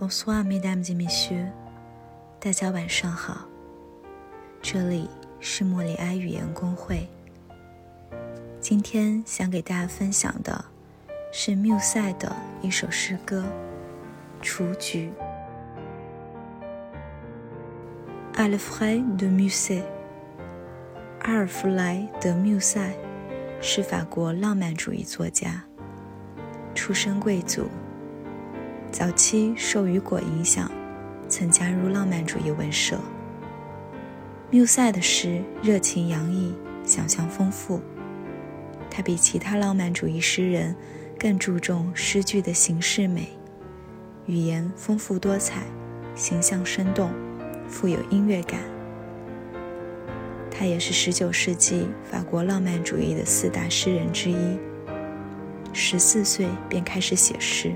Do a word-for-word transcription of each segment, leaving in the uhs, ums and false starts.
Bonsoir, mesdames et messieurs， 大家晚上好，这里是莫里埃语言公会。今天想给大家分享的是缪塞的一首诗歌《雏菊》。Alfred de Musset， 阿尔弗莱德·缪塞是法国浪漫主义作家，出身贵族，早期受雨果影响，曾加入浪漫主义文社。缪塞的诗热情洋溢，想象丰富，他比其他浪漫主义诗人更注重诗句的形式美，语言丰富多彩，形象生动，富有音乐感。他也是十九世纪法国浪漫主义的四大诗人之一，十四岁便开始写诗。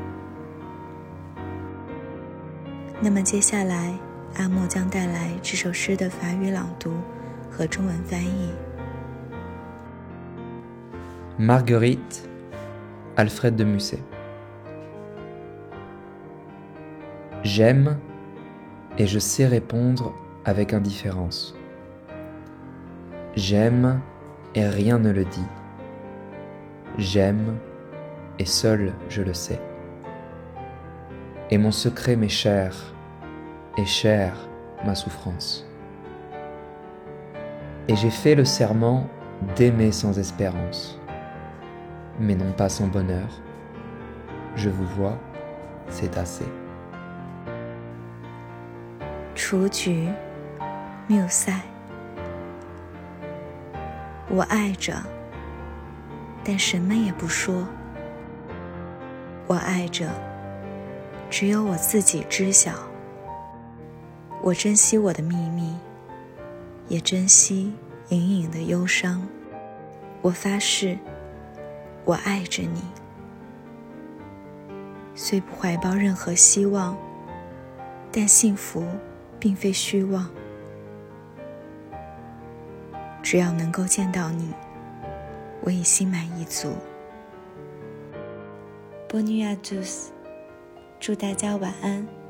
那么接下来阿莫将带来这首诗的法语朗读和中文翻译。 Marguerite, Alfred de Musset. J'aime et je sais répondre avec indifférence. J'aime et rien ne le dit. J'aime et seul je le sais. Et mon secret m'est cher, et chère ma souffrance. Et j'ai fait le serment d'aimer sans espérance, mais non pas sans bonheur. Je vous vois, c'est assez. 雏菊，缪塞。我爱着，但什么也不说。我爱着，只有我自己知晓。我珍惜我的秘密，也珍惜隐隐的忧伤。我发誓，我爱着你。虽不怀抱任何希望，但幸福并非虚妄。只要能够见到你，我已心满意足。Bonne nuit à tous， 祝大家晚安。